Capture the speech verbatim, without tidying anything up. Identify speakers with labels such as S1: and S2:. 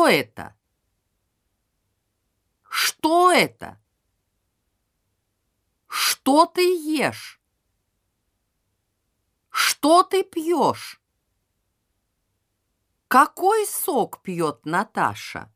S1: Кто это? Что это? Что ты ешь? Что ты пьешь? Какой сок пьет Наташа?